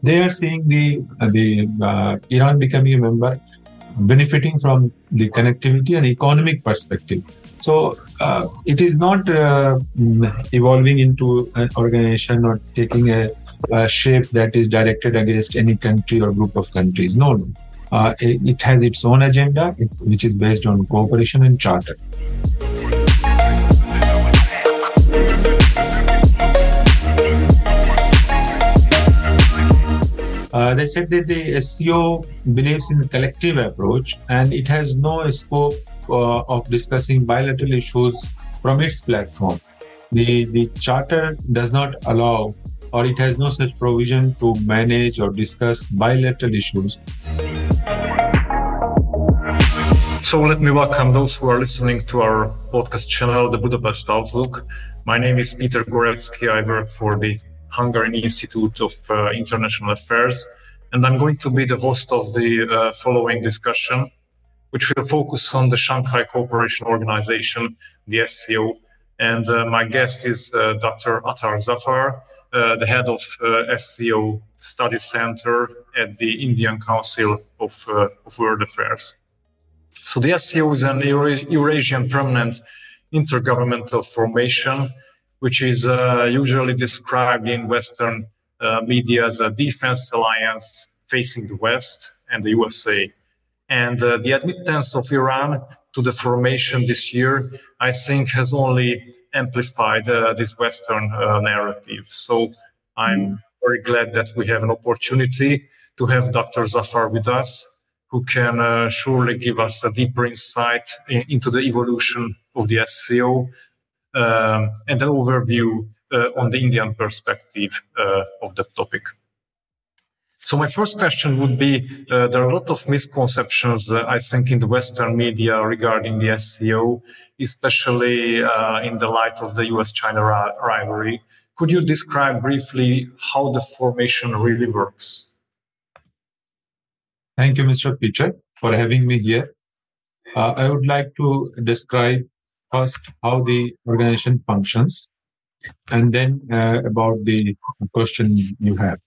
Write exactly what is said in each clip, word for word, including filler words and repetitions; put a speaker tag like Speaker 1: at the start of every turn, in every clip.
Speaker 1: they are seeing the uh, the uh, Iran becoming a member, benefiting from the connectivity and economic perspective. So uh, it is not uh, evolving into an organization or taking a, a shape that is directed against any country or group of countries. No, no. Uh, it, it has its own agenda, it, which is based on cooperation and charter. Uh, they said that the S C O believes in the collective approach, and it has no scope uh, of discussing bilateral issues from its platform. The, the charter does not allow, or it has no such provision to manage or discuss bilateral issues.
Speaker 2: So let me welcome those who are listening to our podcast channel, The Budapest Outlook. My name is Peter Gorecki. I work for the Hungarian Institute of uh, International Affairs, and I'm going to be the host of the uh, following discussion, which will focus on the Shanghai Cooperation Organization, the S C O, and uh, my guest is uh, Doctor Attar Zafar, uh, the head of uh, S C O Study Center at the Indian Council of, uh, of World Affairs. So the S C O is an Eura- Eurasian permanent intergovernmental formation, which is uh, usually described in Western uh, media as a defense alliance facing the West and the U S A. And uh, the admittance of Iran to the formation this year, I think, has only amplified uh, this Western uh, narrative. So I'm very glad that we have an opportunity to have Doctor Zafar with us, who can uh, surely give us a deeper insight in, into the evolution of the S C O, Um, and an overview uh, on the Indian perspective uh, of the topic. So my first question would be, uh, there are a lot of misconceptions, uh, I think, in the Western media regarding the S C O, especially uh, in the light of the U S China ri- rivalry. Could you describe briefly how the formation really works?
Speaker 1: Thank you, Mister Peter, for having me here. Uh, I would like to describe first how the organization functions, and then uh, about the question you have.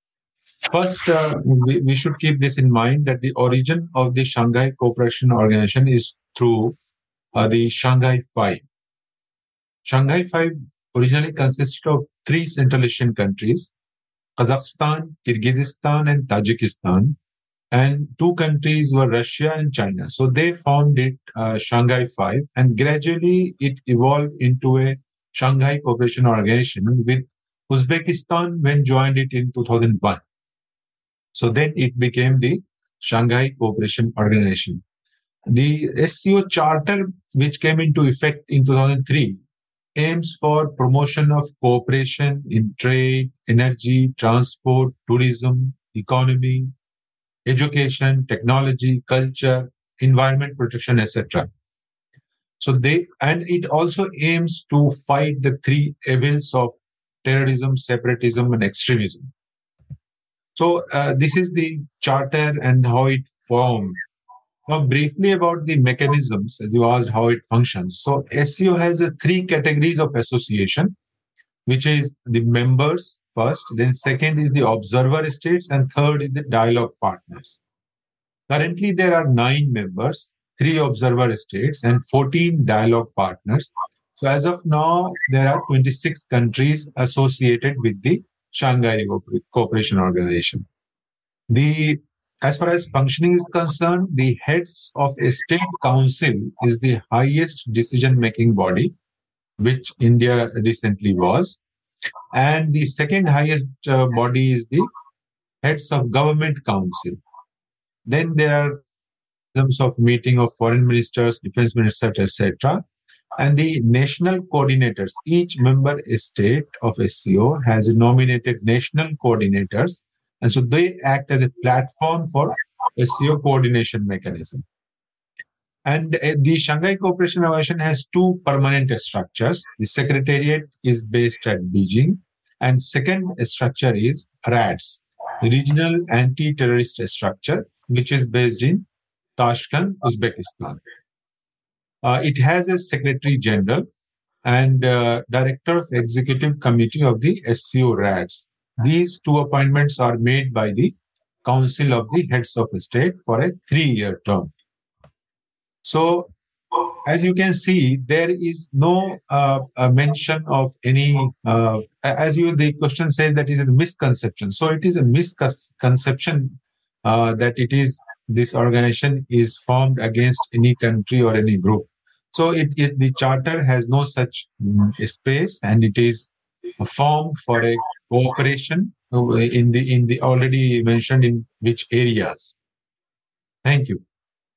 Speaker 1: First, uh, we, we should keep this in mind that the origin of the Shanghai Cooperation Organization is through uh, the Shanghai Five. Shanghai Five originally consisted of three Central Asian countries, Kazakhstan, Kyrgyzstan, and Tajikistan, and two countries were Russia and China. So they formed it uh, Shanghai Five, and gradually it evolved into a Shanghai Cooperation Organization, with Uzbekistan when joined it in two thousand one. So then it became the Shanghai Cooperation Organization. The S C O Charter, which came into effect in two thousand three, aims for promotion of cooperation in trade, energy, transport, tourism, economy, education, technology, culture, environment protection, et cetera. So they, and it also aims to fight the three evils of terrorism, separatism, and extremism. So uh, this is the charter and how it formed. Now, briefly about the mechanisms, as you asked how it functions. So S C O has a three categories of association, which is the members first, then second is the observer states, and third is the dialogue partners. Currently, there are nine members, three observer states, and fourteen dialogue partners. So as of now, there are twenty-six countries associated with the Shanghai Cooperation Organization. The As far as functioning is concerned, the heads of a state council is the highest decision-making body, which India recently was. And the second highest uh, body is the heads of government council. Then there are terms of meeting of foreign ministers, defense ministers, et cetera. And the national coordinators, each member state of S C O has nominated national coordinators. And so they act as a platform for S C O coordination mechanism. And uh, the Shanghai Cooperation Organization has two permanent structures. The secretariat is based at Beijing, and second structure is RADS, Regional Anti-Terrorist Structure, which is based in Tashkent, Uzbekistan. Uh, it has a Secretary General and uh, Director of Executive Committee of the S C O RADS. these two appointments are made by the Council of the Heads of State for a three-year term. So, as you can see, there is no uh, uh, mention of any, uh, as you the question says that is a misconception. So it is a misconception uh, that it is this organization is formed against any country or any group. So it, it the charter has no such um, space, and it is formed for a cooperation in the in the already mentioned in which areas. Thank you.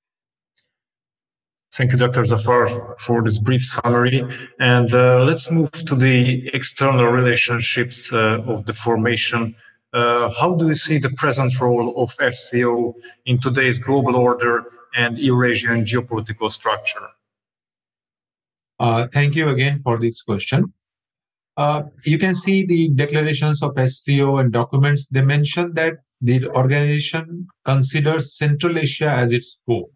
Speaker 2: Thank you, Doctor Zafar, for this brief summary. And uh, let's move to the external relationships uh, of the formation. Uh, how do you see the present role of S C O in today's global order and Eurasian geopolitical structure?
Speaker 1: Uh, thank you again for this question. Uh, you can see the declarations of S C O and documents. They mention that the organization considers Central Asia as its scope.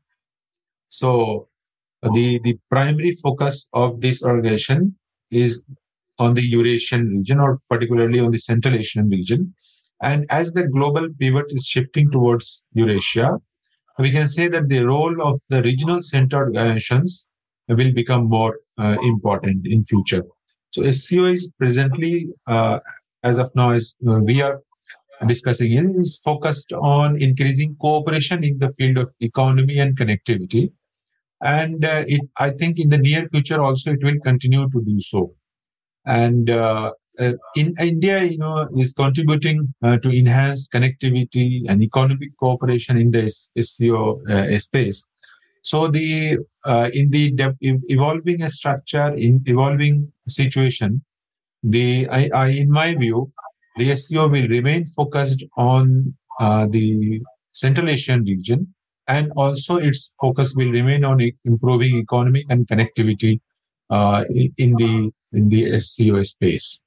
Speaker 1: So the, the primary focus of this organization is on the Eurasian region, or particularly on the Central Asian region. And as the global pivot is shifting towards Eurasia, we can say that the role of the regional center organizations will become more uh, important in future. So S C O is presently, uh, as of now, as uh, we are discussing, is focused on increasing cooperation in the field of economy and connectivity. And uh, it, I think in the near future also it will continue to do so. And uh, uh, in India, you know, is contributing uh, to enhance connectivity and economic cooperation in the S C O uh, space. So the uh, in the de- evolving structure, in evolving situation, the I, I in my view, the S C O will remain focused on uh, the Central Asian region, and also its focus will remain on e- improving economic and connectivity uh, in the in the S C O space.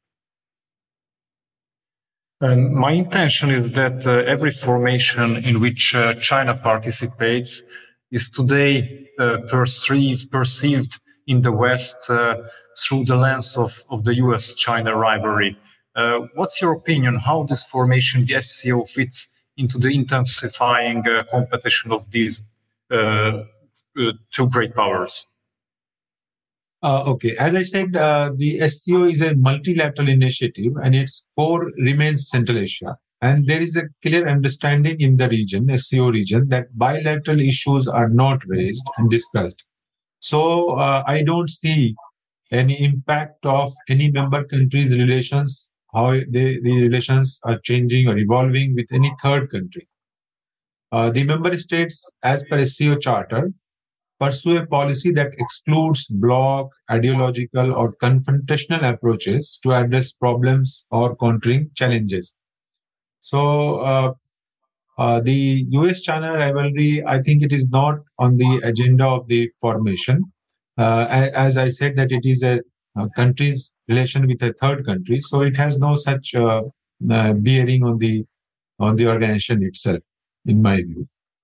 Speaker 2: And my intention is that uh, every formation in which uh, China participates is today uh, perceived, perceived in the West uh, through the lens of, of the U S China rivalry. Uh, what's your opinion? How this formation, the S C O, fits into the intensifying uh, competition of these uh, uh, two great powers?
Speaker 1: Uh, okay, as I said, uh, the S C O is a multilateral initiative, and its core remains Central Asia. And there is a clear understanding in the region, S C O region, that bilateral issues are not raised and discussed. So uh, I don't see any impact of any member countries' relations, how they, the relations are changing or evolving with any third country. Uh, the member states, as per S C O Charter, pursue a policy that excludes bloc, ideological, or confrontational approaches to address problems or countering challenges. So, uh, uh, the U S China rivalry, I think it is not on the agenda of the formation. Uh, as I said, that it is a, a country's relation with a third country, so it has no such uh, uh, bearing on the on the organization itself, in my view.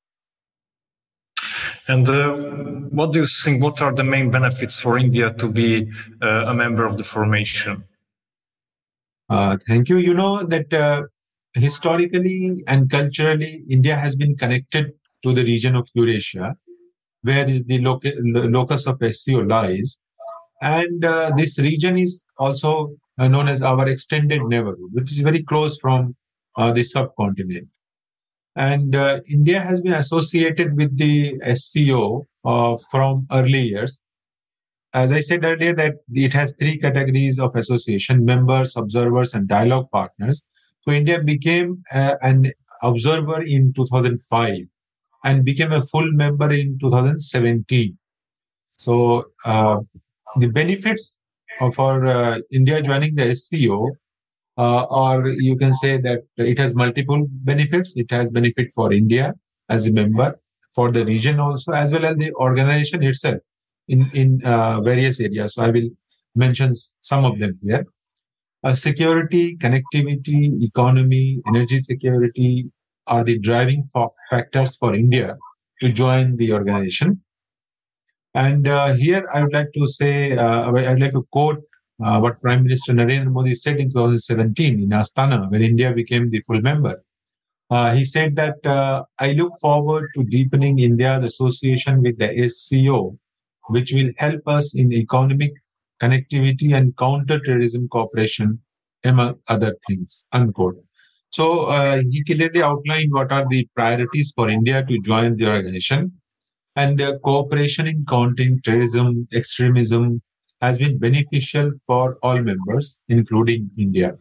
Speaker 2: And uh, what do you think? What are the main benefits for India to be uh, a member of the formation?
Speaker 1: Uh, thank you. You know that uh, historically and culturally, India has been connected to the region of Eurasia, where is the loc- locus of S C O lies. And uh, this region is also uh, known as our extended neighborhood, which is very close from uh, the subcontinent. And uh, India has been associated with the S C O uh, from early years. As I said earlier, that it has three categories of association: members, observers, and dialogue partners. So India became uh, an observer in two thousand five and became a full member in two thousand seventeen. So uh, the benefits of our uh, India joining the S C O, uh, or you can say that it has multiple benefits. It has benefit for India as a member, for the region also, as well as the organization itself in, in uh, various areas. So I will mention some of them here. Uh, security, connectivity, economy, energy security are the driving fa- factors for India to join the organization. And uh, here I would like to say, uh, I would like to quote uh, what Prime Minister Narendra Modi said in twenty seventeen in Astana, when India became the full member. Uh, he said that uh, I look forward to deepening India's association with the S C O, which will help us in economic connectivity and counter-terrorism cooperation, among other things, unquote. So uh, he clearly outlined what are the priorities for India to join the organization. And uh, cooperation in countering terrorism, extremism has been beneficial for all members, including India.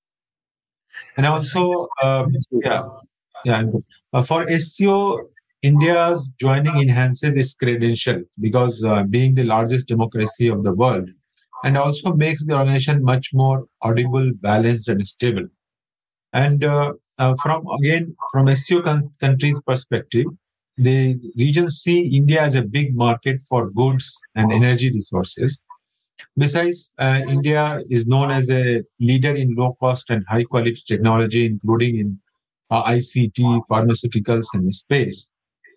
Speaker 1: And also, uh, yeah, yeah, uh, for S C O, India's joining enhances its credential because uh, being the largest democracy of the world, and also makes the organization much more audible, balanced, and stable. And uh, uh, from again, from S C O con- countries' perspective, the region see India as a big market for goods and energy resources. Besides, uh, India is known as a leader in low cost and high quality technology, including in uh, I C T, pharmaceuticals, and space.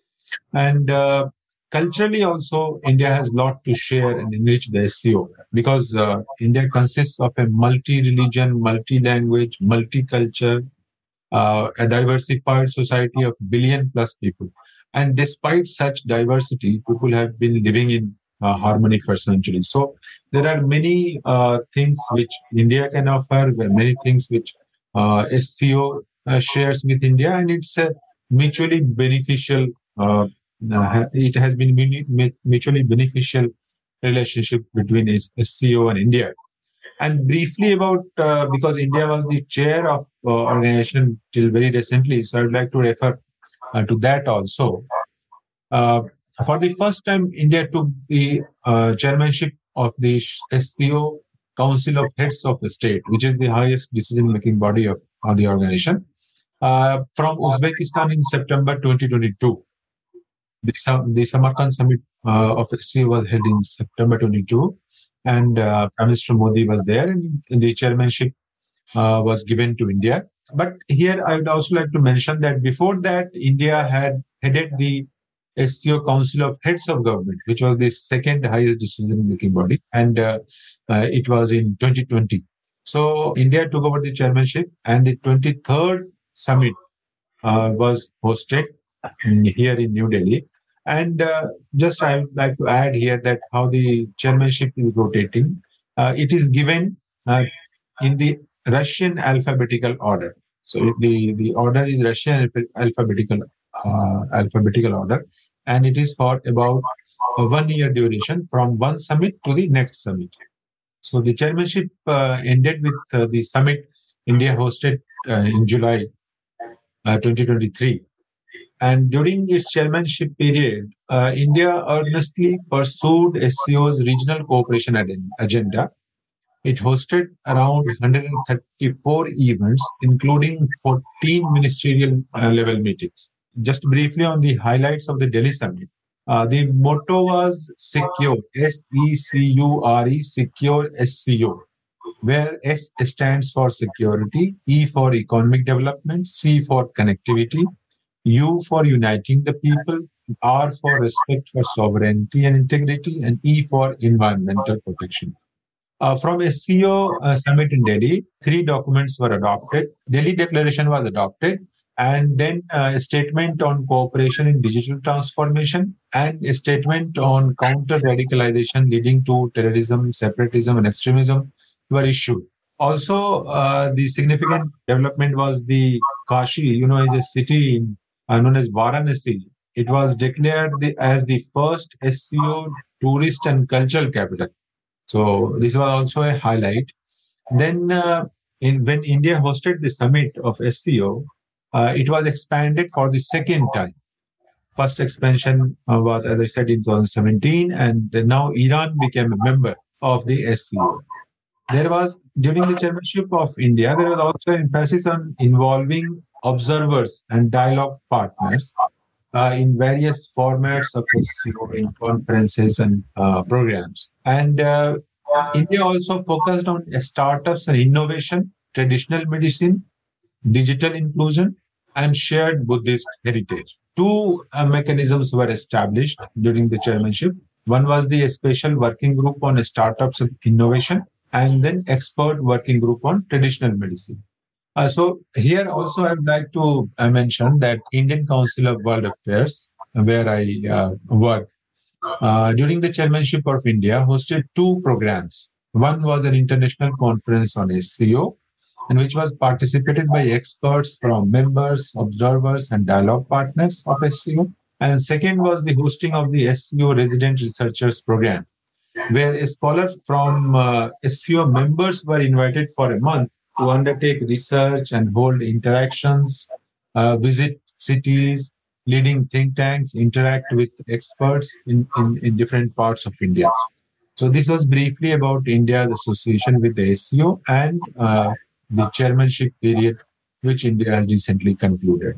Speaker 1: And uh, culturally, also, India has a lot to share and enrich the S C O because uh, India consists of a multi religion, multi language, multicultural, uh, a diversified society of billion plus people. And despite such diversity, people have been living in uh, harmony for centuries. So there are many uh, things which India can offer, there are many things which uh, S C O uh, shares with India, and it's a mutually beneficial. Uh, uh, it has been muni- mutually beneficial relationship between S- SCO and India. And briefly about, uh, because India was the chair of uh, organization till very recently, so I would like to refer uh, to that also. Uh, for the first time, India took the uh, chairmanship of the S C O Council of Heads of the State, which is the highest decision-making body of, of the organization, uh, from Uzbekistan in September twenty twenty-two. The, Sam- the Samarkand summit uh, of S C O was held in September twenty-two, and uh, Prime Minister Modi was there, and the chairmanship uh, was given to India. But here I would also like to mention that before that, India had headed the S C O Council of Heads of Government, which was the second highest decision-making body, and uh, uh, it was in twenty twenty. So India took over the chairmanship, and the twenty-third summit uh, was hosted in- here in New Delhi. And uh, just I would like to add here that how the chairmanship is rotating. Uh, it is given uh, in the Russian alphabetical order. So the, the order is Russian alpha- alphabetical uh, alphabetical order, and it is for about a one year duration from one summit to the next summit. So the chairmanship uh, ended with uh, the summit India hosted uh, in July uh, twenty twenty-three. And during its chairmanship period, uh, India earnestly pursued S C O's regional cooperation aden- agenda. It hosted around one hundred thirty-four events, including fourteen ministerial uh, level meetings. Just briefly on the highlights of the Delhi summit. Uh, the motto was secure, S E C U R E, secure S C O, where S stands for security, E for economic development, C for connectivity, U for uniting the people, R for respect for sovereignty and integrity, and E for environmental protection. Uh, from S C O uh, summit in Delhi, three documents were adopted. Delhi Declaration was adopted, and then uh, a statement on cooperation in digital transformation, and a statement on counter radicalization leading to terrorism, separatism, and extremism were issued. Also, uh, the significant development was the Kashi, you know, is a city in, uh, known as Varanasi. It was declared the, as the first S C O tourist and cultural capital. So this was also a highlight. Then, uh, in when India hosted the summit of S C O, uh, it was expanded for the second time. First expansion uh, was, as I said, in twenty seventeen, and now Iran became a member of the S C O. There was, during the chairmanship of India, there was also emphasis on involving observers and dialogue partners uh, in various formats of S C O, in conferences and uh, programs. And uh, India also focused on startups and innovation, traditional medicine, digital inclusion, and shared Buddhist heritage. Two uh, mechanisms were established during the chairmanship. One was the special working group on startups and innovation, and then expert working group on traditional medicine. Uh, so here also I would like to uh, mention that Indian Council of World Affairs, where I uh, work, uh, during the chairmanship of India, hosted two programs. One was an international conference on S C O, and which was participated by experts from members, observers, and dialogue partners of S C O. And second was the hosting of the S C O Resident Researchers Program, where a scholar from uh, S C O members were invited for a month to undertake research and hold interactions, uh, visit cities, leading think tanks, interact with experts in, in, in different parts of India. So this was briefly about India's association with the S C O and uh, the chairmanship period, which India has recently concluded.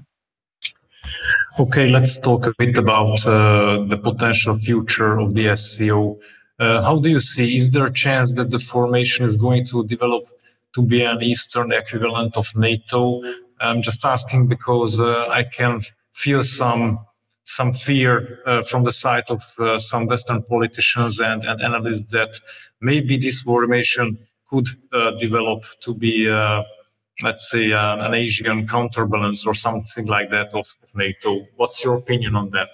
Speaker 2: Okay, let's talk a bit about uh, the potential future of the S C O. Uh, how do you see, is there a chance that the formation is going to develop to be an Eastern equivalent of NATO? I'm just asking because uh, I can feel some some fear uh, from the side of uh, some Western politicians and, and analysts that maybe this formation could uh, develop to be, uh, let's say, uh, an Asian counterbalance or something like that of, of NATO. What's your opinion on that?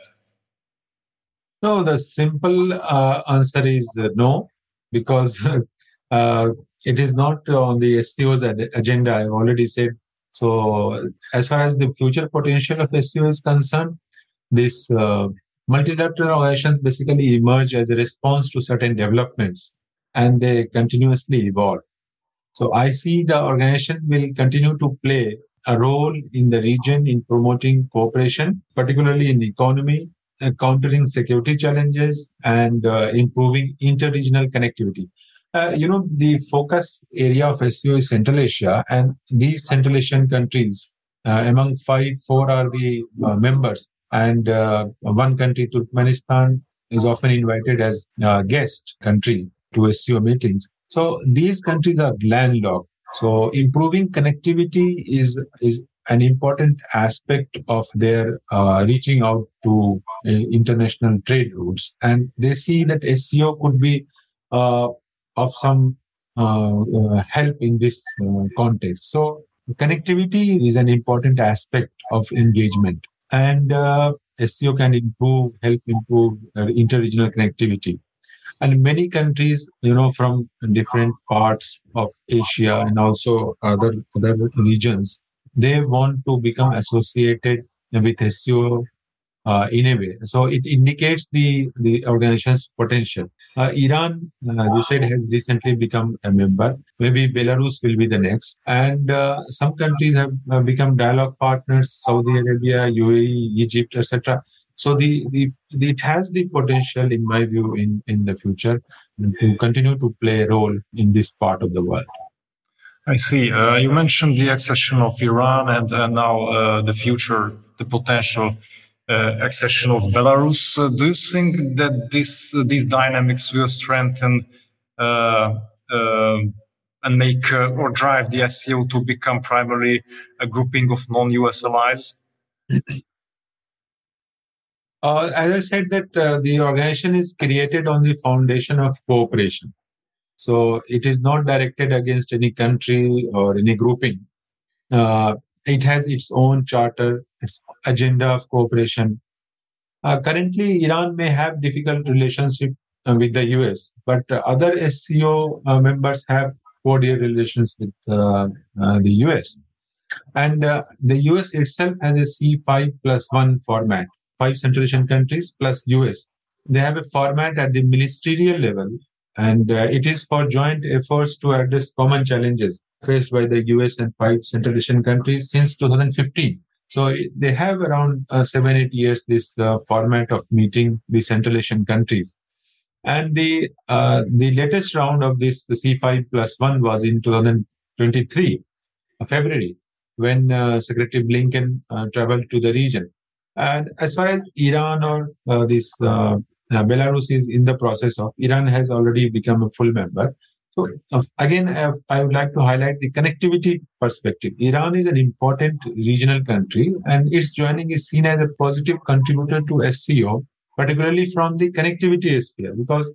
Speaker 1: No, the simple uh, answer is uh, no, because uh, it is not on the S C O's ad- agenda. I've already said. So, as far as the future potential of S C O is concerned, this uh, multilateral organizations basically emerge as a response to certain developments, and they continuously evolve. So, I see the organization will continue to play a role in the region in promoting cooperation, particularly in economy, uh, countering security challenges, and uh, improving inter-regional connectivity. Uh, you know, the focus area of S C O is Central Asia, and these Central Asian countries, uh, among five, four are the uh, members, and uh, one country, Turkmenistan, is often invited as a guest country to S C O meetings. So these countries are landlocked. So improving connectivity is is an important aspect of their uh, reaching out to uh, international trade routes, and they see that S C O could be uh, of some uh, uh, help in this uh, context. So connectivity is an important aspect of engagement, and uh, S C O can improve, help improve uh, inter-regional connectivity. And many countries, you know, from different parts of Asia and also other other regions, they want to become associated with S C O uh, in a way. So it indicates the, the organization's potential. Uh, Iran, uh, as you said, has recently become a member. Maybe Belarus will be the next. And uh, some countries have uh, become dialogue partners, Saudi Arabia, U A E, Egypt, et cetera. So the, the, the it has the potential, in my view, in, in the future to continue to play a role in this part of the world.
Speaker 2: I see. Uh, you mentioned the accession of Iran and uh, now uh, the future, the potential uh, accession of Belarus. Uh, do you think that this uh, these dynamics will strengthen uh, uh, and make uh, or drive the S C O to become primarily a grouping of non-U S allies?
Speaker 1: Uh, as I said, that uh, the organization is created on the foundation of cooperation. So it is not directed against any country or any grouping. Uh, it has its own charter, its agenda of cooperation. Uh, currently, Iran may have difficult relationship uh, with the U S, but uh, other S C O uh, members have cordial relations with uh, uh, the U S. And uh, the U S itself has a C five plus one format, five Central Asian countries plus U S. They have a format at the ministerial level, and uh, it is for joint efforts to address common challenges faced by the U S and five Central Asian countries since two thousand fifteen. So it, they have around uh, seven, eight years this uh, format of meeting the Central Asian countries. And the uh, the latest round of this the C five plus one was in two thousand twenty-three, uh, February, when uh, Secretary Blinken uh, traveled to the region. And as far as Iran or uh, this uh, uh, Belarus is in the process of, Iran has already become a full member. So uh, again, uh, I would like to highlight the connectivity perspective. Iran is an important regional country, and its joining is seen as a positive contributor to S C O, particularly from the connectivity sphere, because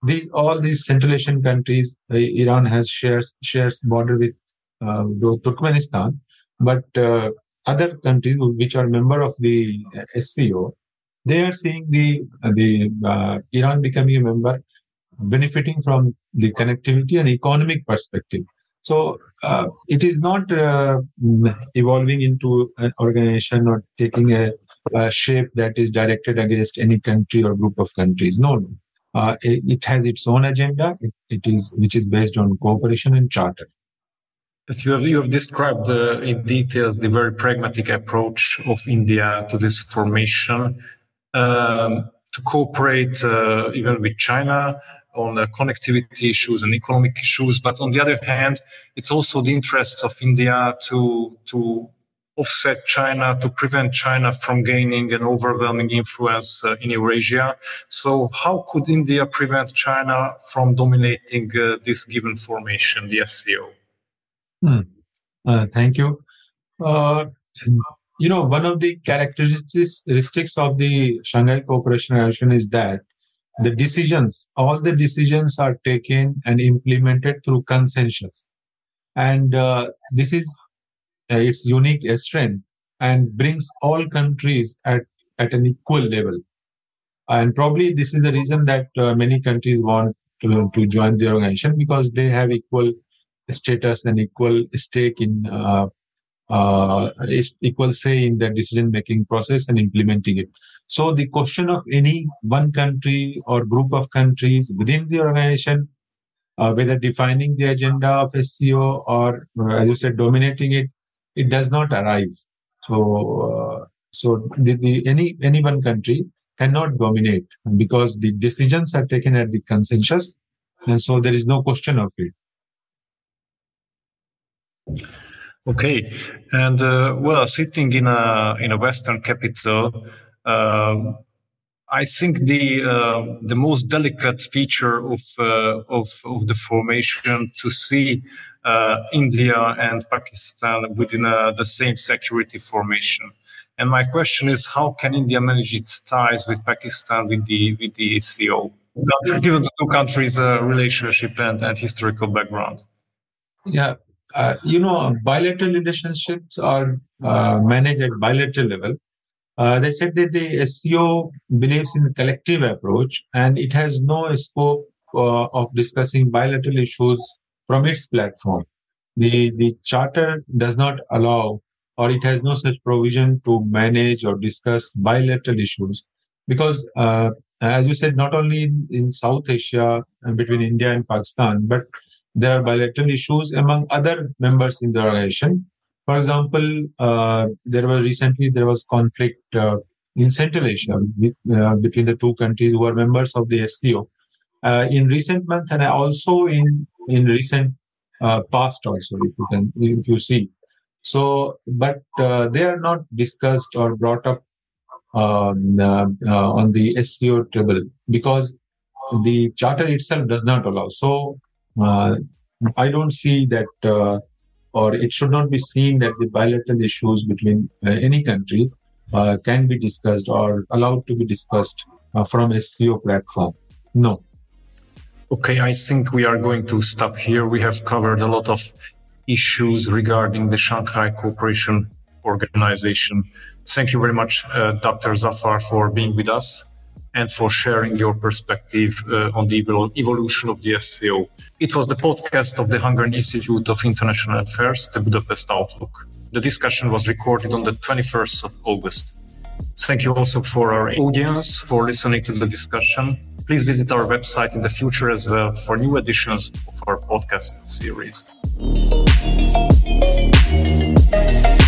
Speaker 1: these all these Central Asian countries, uh, Iran has shares shares border with uh, Turkmenistan, but uh, other countries which are member of the S C O, they are seeing the uh, the uh, Iran becoming a member, benefiting from the connectivity and economic perspective. So uh, it is not uh, evolving into an organization or taking a, a shape that is directed against any country or group of countries. No, no. Uh, it, it has its own agenda. It, it is which is based on cooperation and charter.
Speaker 2: As you have, you have described uh, in details the very pragmatic approach of India to this formation, um, to cooperate uh, even with China on uh, connectivity issues and economic issues. But on the other hand, it's also the interests of India to, to offset China, to prevent China from gaining an overwhelming influence uh, in Eurasia. So how could India prevent China from dominating uh, this given formation, the S C O?
Speaker 1: Hmm. Uh, thank you. Uh, you know, one of the characteristics of the Shanghai Cooperation Organization is that the decisions, all the decisions are taken and implemented through consensus. And uh, this is uh, its unique strength and brings all countries at, at an equal level. And probably this is the reason that uh, many countries want to, to join the organization, because they have equal status and equal stake in uh, uh, equal say in the decision-making process and implementing it. So the question of any one country or group of countries within the organization, uh, whether defining the agenda of S C O or, uh, as you said, dominating it, it does not arise. So, uh, so the, the any any one country cannot dominate, because the decisions are taken at the consensus, and so there is no question of it.
Speaker 2: Okay, and uh, well, sitting in a in a Western capital, uh, I think the uh, the most delicate feature of uh, of of the formation to see uh, India and Pakistan within uh, the same security formation. And my question is, how can India manage its ties with Pakistan with the with the S C O, given the two countries' uh, relationship and, and historical background?
Speaker 1: Yeah. Uh, you know, bilateral relationships are uh, managed at bilateral level. Uh, they said that the S C O believes in a collective approach, and it has no scope uh, of discussing bilateral issues from its platform. The, the charter does not allow, or it has no such provision to manage or discuss bilateral issues, because, uh, as you said, not only in, in South Asia and between India and Pakistan, but there are bilateral issues among other members in the organization. For example, uh, there was recently there was conflict uh, in Central Asia with, uh, between the two countries who are members of the S C O. Uh, in recent months, and also in in recent uh, past, also if you can if you see. So, but uh, they are not discussed or brought up um, uh, uh, on the S C O table, because the charter itself does not allow. So. Uh, I don't see that, uh, or it should not be seen that the bilateral issues between uh, any country uh, can be discussed or allowed to be discussed uh, from S C O platform. No.
Speaker 2: Okay, I think we are going to stop here. We have covered a lot of issues regarding the Shanghai Cooperation Organization. Thank you very much, uh, Doctor Zafar, for being with us and for sharing your perspective uh, on the evol- evolution of the S C O. It was the podcast of the Hungarian Institute of International Affairs, the Budapest Outlook. The discussion was recorded on the twenty-first of August. Thank you also for our audience for listening to the discussion. Please visit our website in the future as well for new editions of our podcast series.